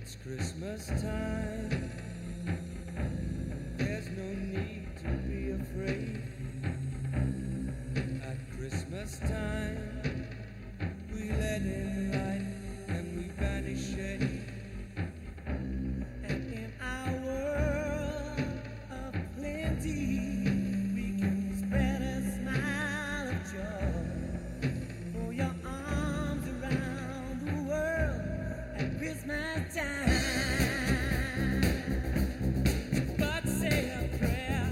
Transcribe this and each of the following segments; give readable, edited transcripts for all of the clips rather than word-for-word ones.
It's Christmas time. There's no need to be afraid. At Christmas time, we let in light and we banish shade. And in our world of plenty, we can spread a smile of joy. Throw your arms around the world at Christmas time. But say a prayer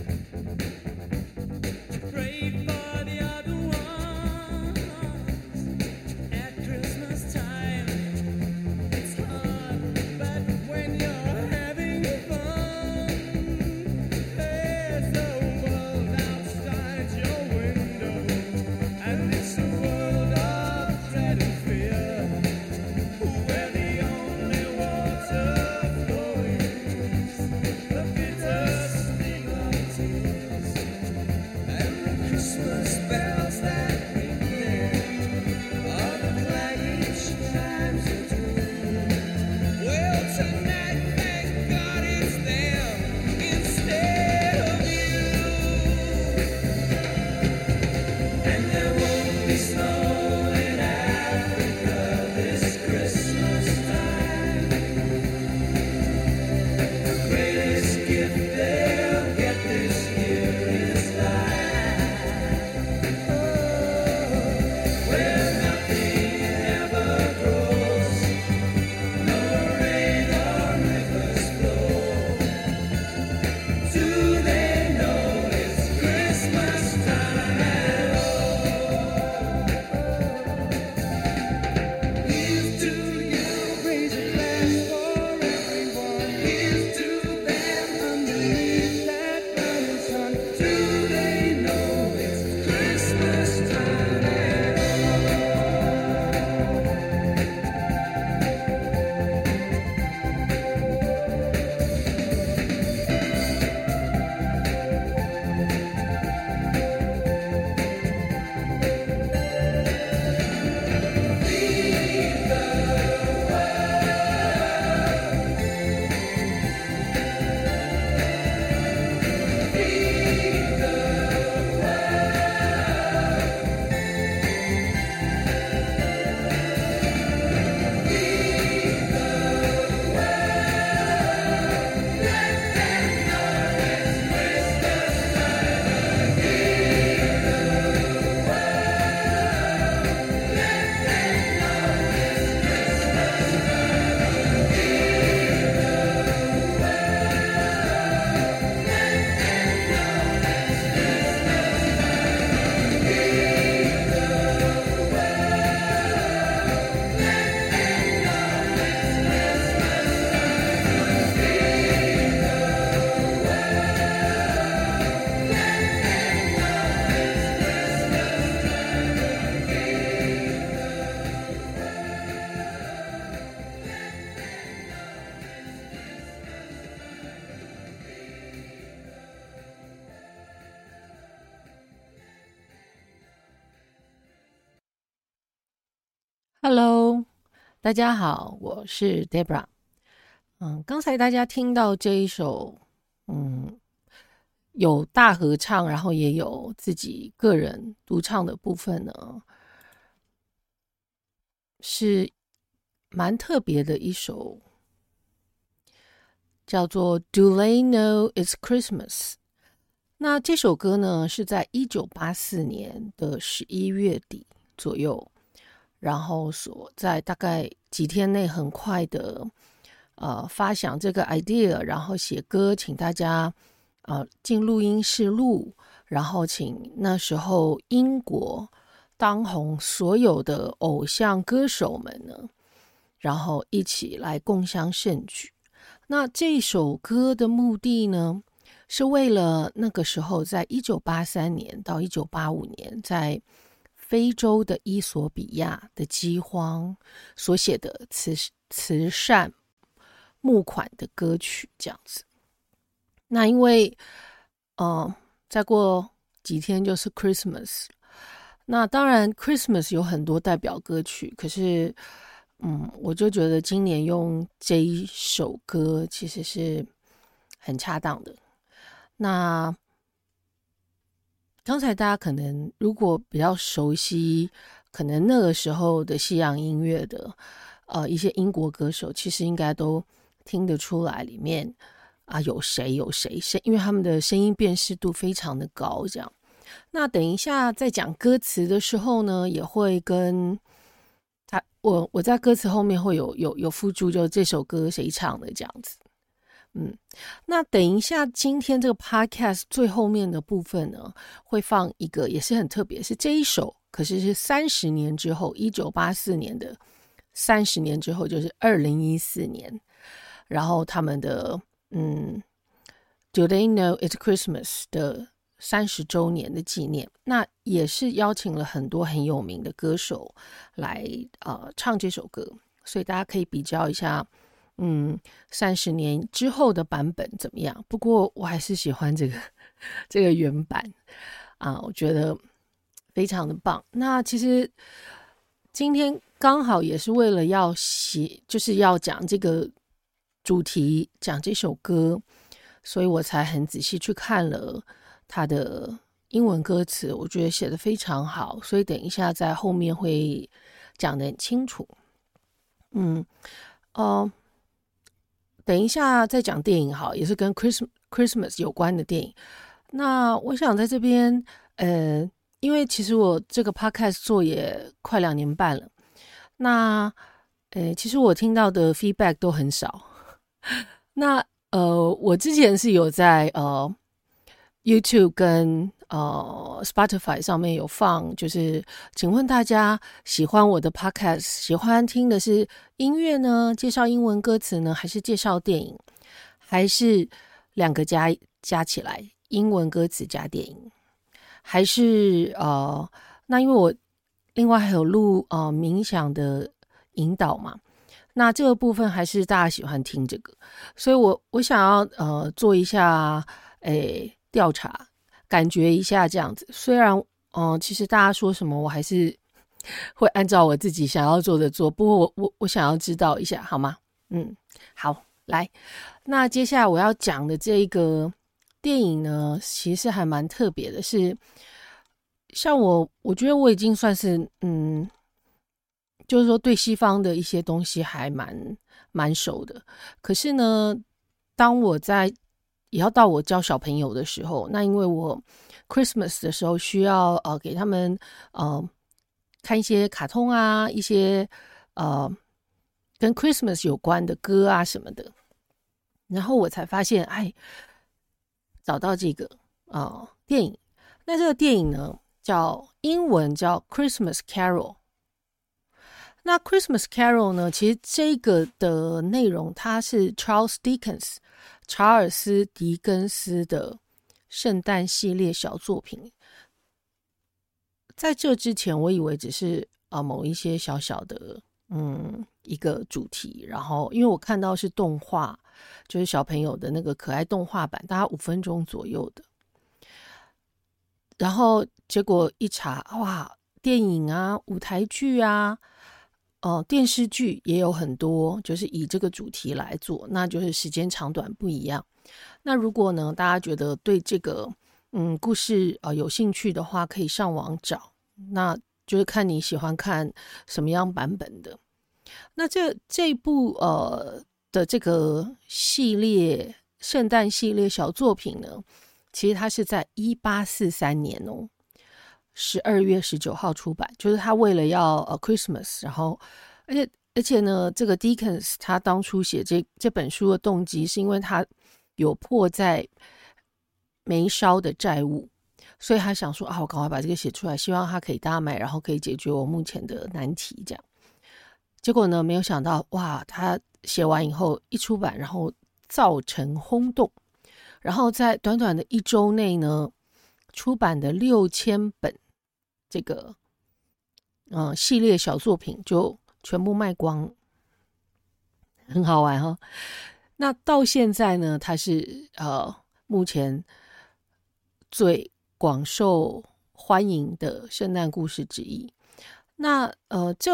to pray for the other ones. At Christmas time, it's hard, but when you're having fun, there's no world outside your window, and it's a world of dread and fear, where the only water flows, the bitter sting of tears, and the Christmas bells that ring clear are the clanging chimes of doom. Well, tonight, thank God it's them instead of you. And there won't be snow in Africa this Christmas time. The greatest gift they'll get this year is life. Oh, where nothing ever grows, no rain or rivers flow. Do they know it's Christmas time at all? Here's to you, raise a glass for everyone. Here's to them underneath that burning sun. Do they know it's Christmas time at Hello， 大家好，我是 Debra。刚才大家听到这一首，有大合唱，然後也有自己個人獨唱的部分呢，是蠻特別的一首，叫做 Do They Know It's Christmas。那這首歌呢，是在1984年的11月底左右，然後所在大概幾天內很快的發想這個 idea， 然後寫歌，請大家進錄音室錄，然後請那時候英國當紅所有的偶像歌手們呢，然後一起來共襄盛舉。那這首歌的目的呢，是為了那個時候在1983年到1985年在非洲的伊索比亞的饑荒所寫的慈善募款的歌曲這樣子。那因為再過幾天就是 Christmas， 那當然 Christmas 有很多代表歌曲，可是我就覺得今年用這一首歌其實是很恰當的。那剛才大家可能如果比較熟悉，可能那個時候的西洋音樂的一些英國歌手，其實應該都聽得出來裡面有誰，因為他們的聲音辨識度非常的高。這樣，那等一下在講歌詞的時候呢，也會跟我在歌詞後面會有附注，就這首歌誰唱的這樣子。那等一下今天這個 podcast 最後面的部分呢，會放一個也是很特別，是這一首可是30年之後，1984年的30年之後，就是2014年，然後他們的Do They Know It's Christmas 的30周年的紀念，那也是邀請了很多很有名的歌手來唱這首歌，所以大家可以比較一下30年之後的版本怎麼樣。不過我還是喜歡這個原版我覺得非常的棒。那其實今天剛好也是為了要就是要講這個主題，講這首歌，所以我才很仔細去看了他的英文歌詞，我覺得寫得非常好，所以等一下在後面會講得很清楚。等一下再講電影好，也是跟 Christmas 有關的電影。那我想在這邊因為其實我這個 podcast 做也快2年半了，那其實我聽到的 feedback 都很少。那我之前是有在YouTube 跟Spotify 上面有放，就是請問大家喜歡我的 podcast， 喜歡聽的是音樂呢，介紹英文歌詞呢，還是介紹電影，還是兩個加起來，英文歌詞加電影，還是那因為我另外還有錄冥想的引導嘛，那這個部分還是大家喜歡聽這個，所以我想要做一下調查，感覺一下這樣子。雖然其實大家說什麼我還是會按照我自己想要做的做，不過我想要知道一下好嗎？好，來，那接下來我要講的這個電影呢，其實還蠻特別的，是像我覺得我已經算是就是說對西方的一些東西還蠻熟的，可是呢，當我也要到我教小朋友的時候，那因為我 Christmas 的時候需要給他們看一些卡通啊，一些跟 Christmas 有關的歌啊什麼的，然後我才發現找到這個電影。那這個電影呢，英文叫 Christmas Carol。那 Christmas Carol 呢，其實這個的內容它是查爾斯·狄更斯的聖誕系列小作品。在這之前我以為只是某一些小小的一個主題，然後因為我看到是動畫，就是小朋友的那個可愛動畫版，大概5分鐘左右的，然後結果一查，哇，電影啊，舞台劇啊，電視劇也有很多，就是以這個主題來做，那就是時間長短不一樣。那如果呢，大家覺得對這個故事有興趣的話，可以上網找，那就是看你喜歡看什麼樣版本的。那這一部的這個系列聖誕系列小作品呢，其實它是在1843年12月19號出版，就是他為了要Christmas， 然後而且呢，這個 Dickens 他當初寫這本書的動機是因為他有迫在眉梢的債務，所以他想說我趕快把這個寫出來，希望他可以大賣，然後可以解決我目前的難題這樣。結果呢，沒有想到哇，他寫完以後一出版，然後造成轟動，然後在短短的1周內呢，出版的6000本這個系列小作品就全部賣光，很好玩哈。那到現在呢，它是目前最廣受歡迎的聖誕故事之一。那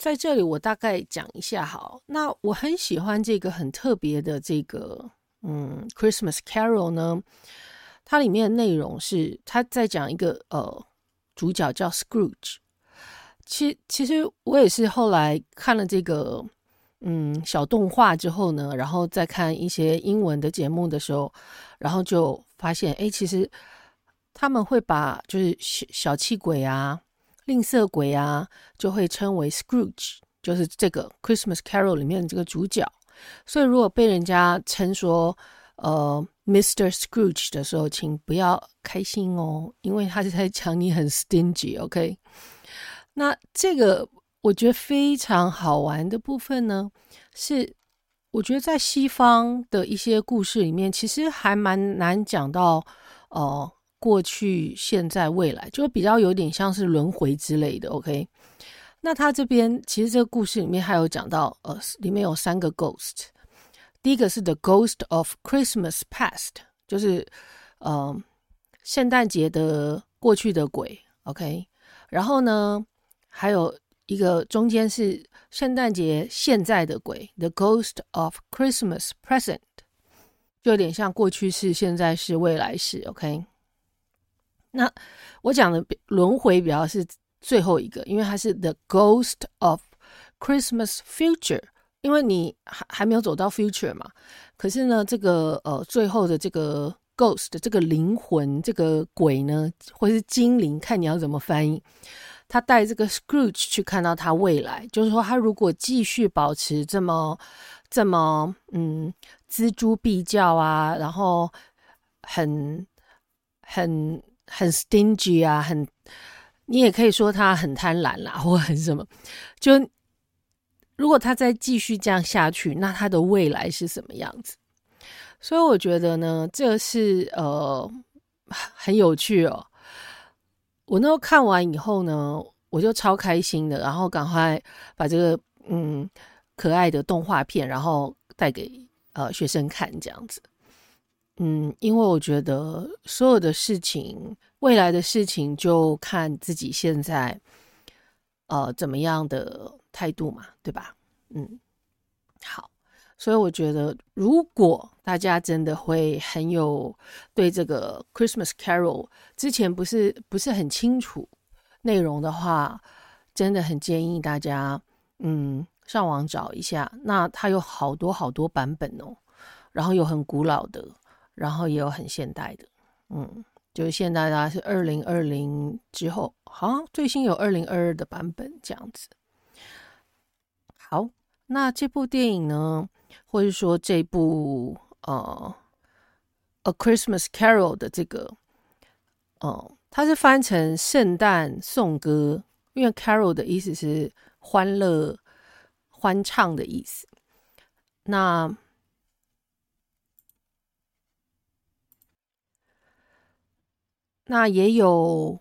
在這裡我大概講一下好。那我很喜歡這個很特別的這個Christmas Carol 呢，它裡面的內容是他在講一個主角叫 Scrooge。其實我也是後來看了這個小動畫之後呢，然後再看一些英文的節目的時候，然後就發現其實他們會把就是小氣鬼啊、吝嗇鬼啊，就會稱為 Scrooge， 就是這個 Christmas Carol 裡面的這個主角。所以如果被人家稱說Mr. Scrooge 的時候，請不要開心哦，因為他是在講你很 stingy，OK？那這個我覺得非常好玩的部分呢，是我覺得在西方的一些故事裡面，其實還蠻難講到過去、現在、未來，就比較有點像是輪迴之類的。OK， 那他這邊其實這個故事裡面還有講到裡面有3個 ghost， 第一個是 The Ghost of Christmas Past， 就是聖誕節的過去的鬼。OK， 然後呢，還有一個中間是聖誕節現在的鬼 The Ghost of Christmas Present， 就有點像過去式、現在式、未來式。 OK， 那我講的輪迴比較是最後一個，因為它是 The Ghost of Christmas Future， 因為你還沒有走到 future 嘛，可是呢這個最後的這個 ghost 這個靈魂，這個鬼呢，或是精靈，看你要怎麼翻譯，他帶這個 Scrooge 去看到他未來，就是說他如果繼續保持這麼錙銖必較啊，然後很 stingy 啊，你也可以說他很貪婪啦，或很什麼，就如果他再繼續這樣下去，那他的未來是什麼樣子？所以我覺得呢，這是很有趣哦。我那時候看完以後呢，我就超開心的，然後趕快把這個可愛的動畫片，然後帶給學生看這樣子。因為我覺得所有的事情，未來的事情就看自己現在怎麼樣的態度嘛，對吧？好，所以我覺得如果大家真的會很有對這個 Christmas Carol 之前不是很清楚內容的話，真的很建議大家上網找一下。那它有好多好多版本哦，然後有很古老的，然后也有很現代的。就是现在大概是2020之後，好像最新有2022的版本這樣子。好，那這部電影呢，或者說這部A Christmas Carol 的這個它是翻成聖誕頌歌，因為 Carol 的意思是歡樂、歡唱的意思。那也有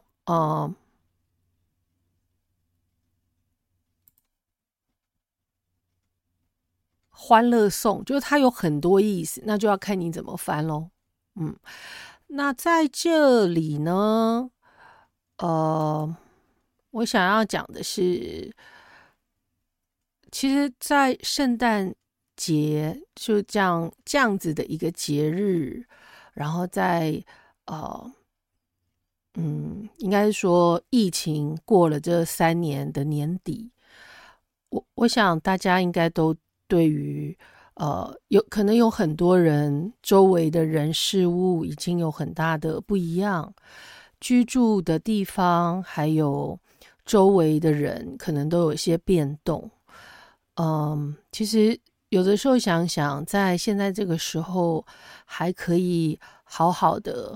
歡樂頌，就是它有很多意思，那就要看你怎麼翻咯。那在這裡呢，我想要講的是，其實在聖誕節就這樣子的一個節日，然後在應該是說疫情過了這3年的年底，我想大家應該都對於可能有很多人周圍的人事物已經有很大的不一樣，居住的地方還有周圍的人可能都有一些變動。其實有的時候想想，在現在這個時候還可以好好的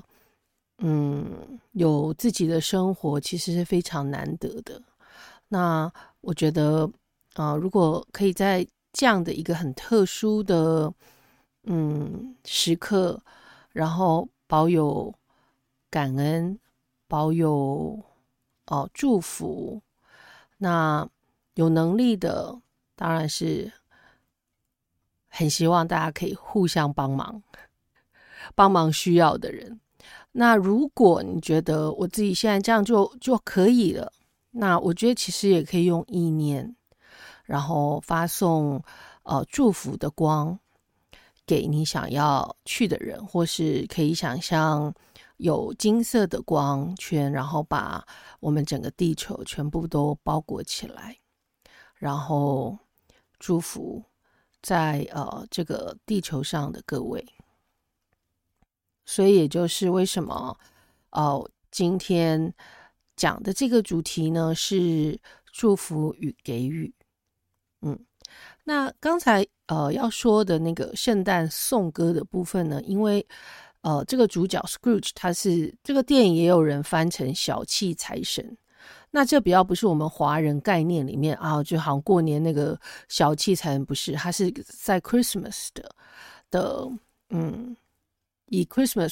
有自己的生活，其實是非常難得的。那我觉得如果可以在這樣的一個很特殊的時刻，然後保有感恩，保有祝福，那有能力的當然是很希望大家可以互相帮忙需要的人。那如果你覺得我自己現在這樣就可以了，那我覺得其實也可以用意念， 然後發送祝福的光給你想要去的人，或是可以想象有金色的光圈，然後把我們整個地球全部都包裹起來，然後祝福在這個地球上的各位。所以也就是為什麼今天講的這個主題呢，是祝福與給予。那剛才要說的那個聖誕頌歌的部分呢，因為這個主角 Scrooge 他是這個電影也有人翻成小氣財神，那這比較不是我們華人概念裡面就好像過年那個小氣財神，不是，他是在 Christmas 的以 Christmas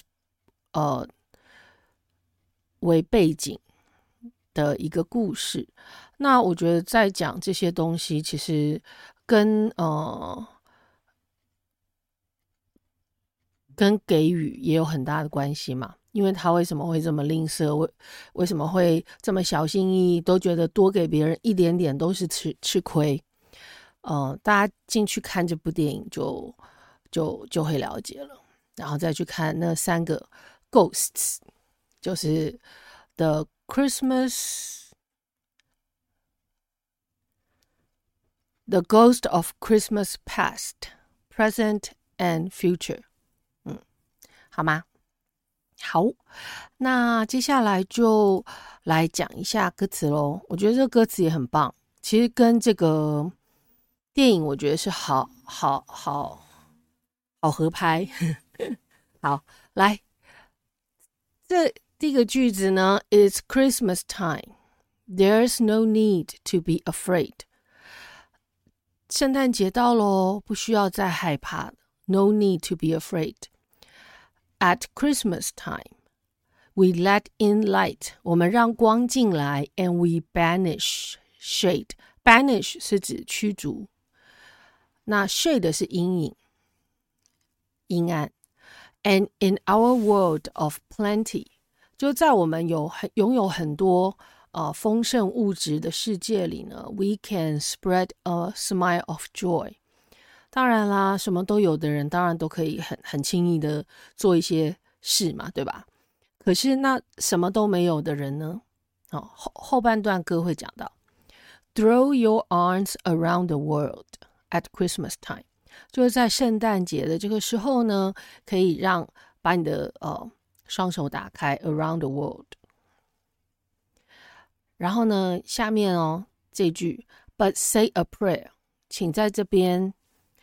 為背景的一個故事。那我覺得在講這些東西，其實跟給予也有很大的關係嘛。因為他為什麼會這麼吝嗇，為什麼會這麼小心翼翼，都覺得多給別人一點點都是吃虧。大家進去看這部電影就會了解了，然後再去看那3個 ghosts， 就是 The Ghost of Christmas Past, Present and Future。好嗎？好，那接下來就來講一下歌詞咯。我覺得這個歌詞也很棒，其實跟這個電影我覺得是好合拍。好，來，這第一個句子呢 ，It's Christmas time, there's no need to be afraid。聖誕節到咯，不需要再害怕 ，No need to be afraid。At Christmas time, we let in light. 我們讓光進來 and we banish shade. Banish 是指驅逐，那 shade 是陰影、陰暗。And in our world of plenty, 就在我們擁有很多豐盛物質的世界裡呢 we can spread a smile of joy。當然啦，什麼都有的人當然都可以很輕易的做一些事嘛，對吧？可是那什麼都沒有的人呢？後半段歌會講到 Throw your arms around the world at Christmas time， 就是在聖誕節的這個時候呢，可以把你的雙手打開 around the world。然後呢，下面這句 But say a prayer， 請在這邊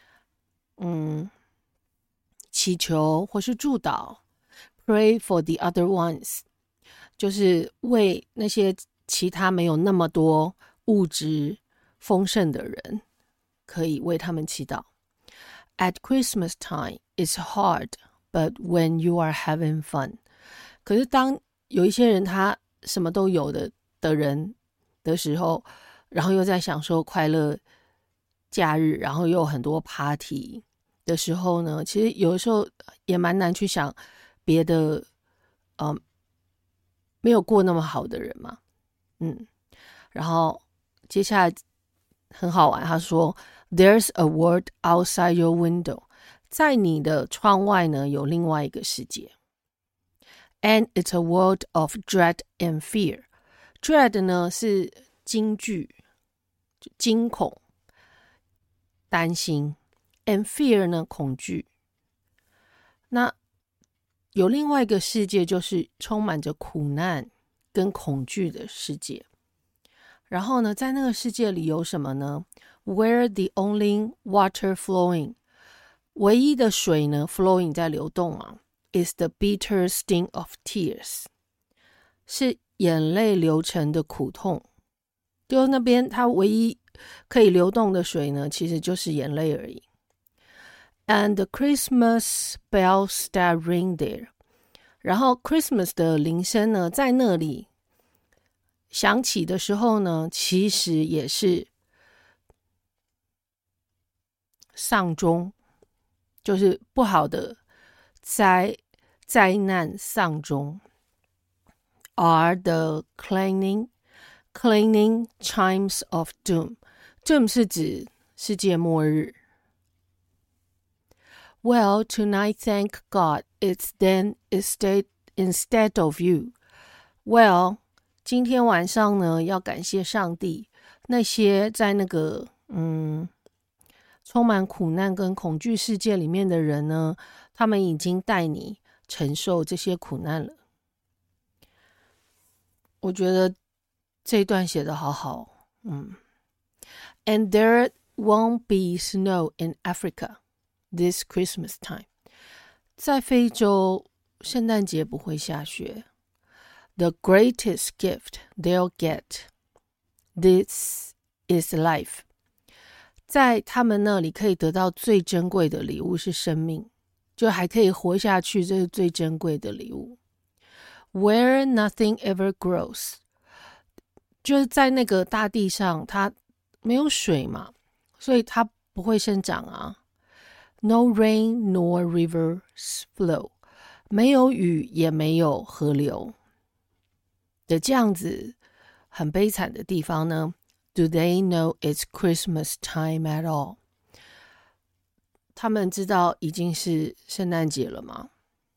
祈求或是祝禱 Pray for the other ones， 就是為那些其他沒有那麼多物質豐盛的人，可以為他們祈禱。At Christmas time, it's hard, but when you are having fun， 可是當有一些人他什麼都有的人的時候，然後又在享受快樂假日，然後又有很多 party的時候呢，其實有的時候也蠻難去想別的沒有過那麼好的人嘛。然後接下來很好玩，他說 There's a world outside your window， 在你的窗外呢有另外一個世界。And it's a world of dread and fear。 Dread 呢是驚懼、驚恐、擔心， and fear 呢恐懼。那有另外一個世界，就是充滿着苦難跟恐懼的世界。然後呢，在那個世界裡有什麼呢？ Where the only water flowing， 唯一的水呢 flowing 在流動嘛， is the bitter sting of tears， 是眼淚流成的苦痛。就那邊它唯一可以流動的水呢，其實就是眼淚而已。And the Christmas bells that ring there， 然後 Christmas 的鈴聲呢，在那裡響起的時候呢，其實也是喪鐘，就是不好的災難喪鐘。Are the clanging chimes of doom。 這不是指世界末日。Well, tonight, thank God, it's then instead of you. Well, 今天晚上呢，要感謝上帝，那些在那個充滿苦難跟恐懼世界裡面的人呢，他們已經帶你承受這些苦難了。我覺得這一段寫得好好。And there won't be snow in Africa this Christmas time. 在非洲，聖誕節不會下雪。The greatest gift they'll get, this is life. 在他們那裡可以得到最珍貴的禮物是生命，就還可以活下去，這是最珍貴的禮物。Where nothing ever grows. 就是在那個大地上，它沒有水嘛，所以它不會生長啊。No rain nor rivers flow. 沒有雨也沒有河流的這樣子很悲慘的地方呢， Do they know it's Christmas time at all? 他們知道已經是聖誕節了嗎？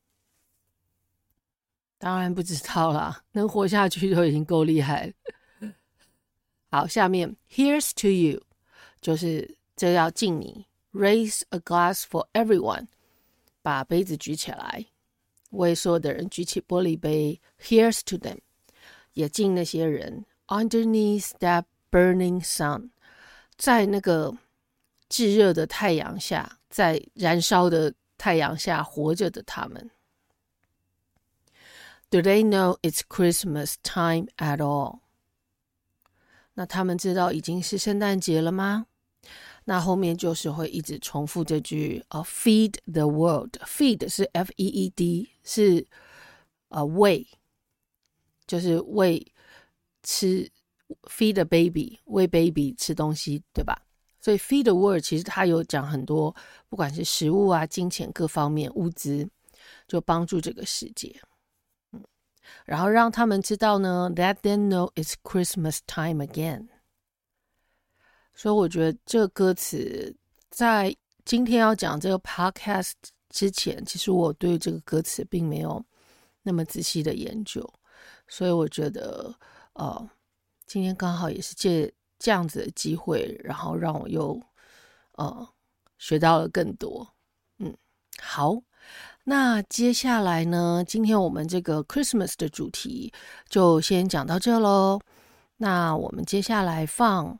當然不知道啦，能活下去就已經夠厲害了。好，下面 Here's to you 就是這要敬你， Raise a glass for everyone 把杯子舉起來，為所有的人舉起玻璃杯， Here's to them也敬那些人 Underneath that burning sun 在那個炙熱的太陽下，在燃燒的太陽下活着的他們。Do they know it's Christmas time at all? 那他們知道已經是聖誕節了嗎？那後面就是會一直重複這句feed the world. Feed 是 F-E-E-D 是餵，就是餵吃 feed a baby 餵 baby 吃東西，對吧？所以 feed the world 其實它有講很多，不管是食物啊、金錢各方面物資，就幫助這個世界。然後讓他們知道呢 Let them know it's Christmas time again. 所以我覺得這個歌詞在今天要講這個 podcast 之前，其實我對這個歌詞並沒有那麼仔細的研究，所以我覺得今天剛好也是借這樣子的機會，然後讓我又學到了更多。好，那接下來呢，今天我們這個 Christmas 的主題就先講到這咯。那我們接下來放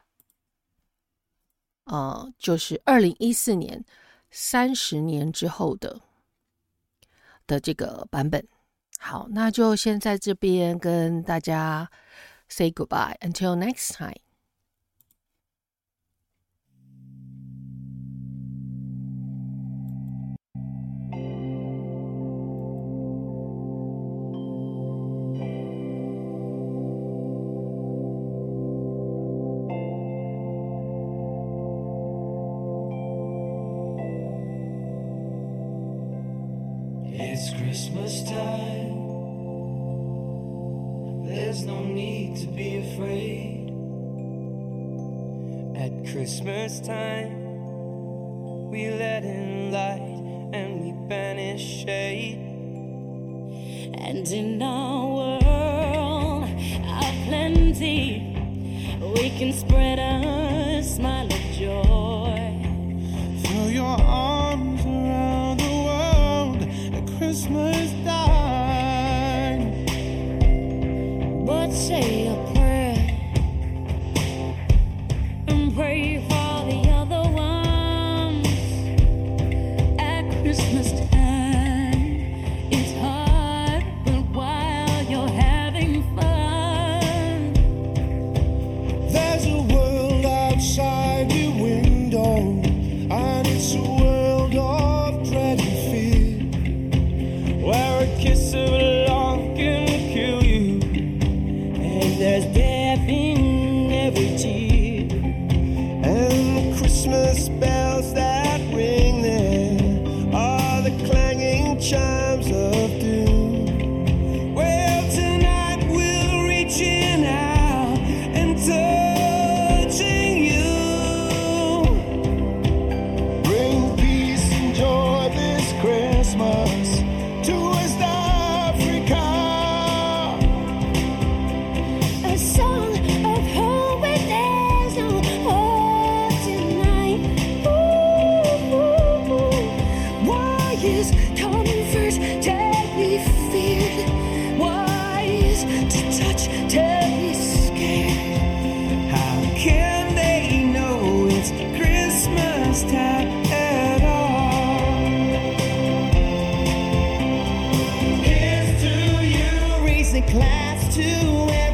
就是2014年30年之後的這個版本。好，那就先在這邊跟大家 say goodbye until next time. It's Christmas time. There's no need to be afraid. At Christmas time, we let in light and we banish shade. And in our world of plenty, we can spread a smile of joy. Throw your arms around the world at Christmas time. But say a prayer and pray for the other ones. At Christmas time, it's hard, but while you're having fun, There's a world outside your window, and it's a world of dread and fear, where a kiss of love can kill you, and there's class to